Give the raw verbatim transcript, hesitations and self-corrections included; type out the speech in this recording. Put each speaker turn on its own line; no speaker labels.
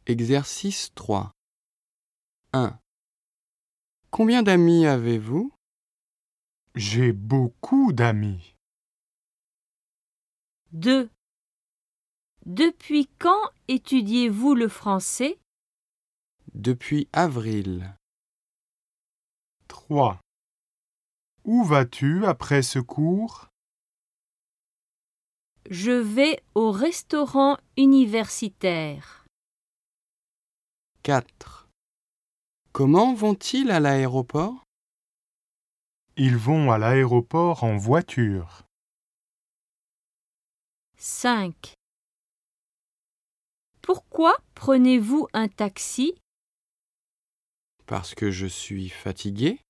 Exercice trois. un. Combien d'amis avez-vous?
J'ai beaucoup d'amis.
deux. Depuis quand étudiez-vous le français?
Depuis avril.
trois. Où vas-tu après ce cours?
Je vais au restaurant universitaire.
quatre. Comment vont-ils à l'aéroport?
Ils vont à l'aéroport en voiture.
cinq. Pourquoi prenez-vous un taxi?
Parce que je suis fatigué.